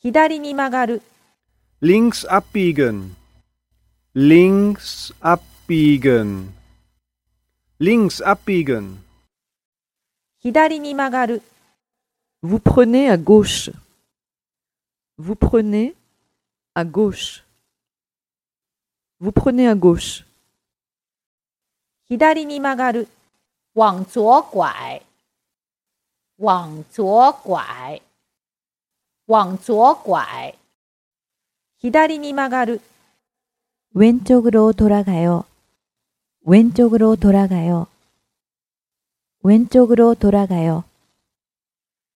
左に曲がる。 Links abbiegen. Links abbiegen. Links abbiegen. 左に曲がる。 Vous prenez à gauche. Vous prenez à gauche. Vous prenez à gauche. 左に曲がる。 往左拐，往左拐，往左拐。 左に曲がる。 왼쪽으로 돌아가요. 왼쪽으로 돌아가요. 왼쪽으로 돌아가요.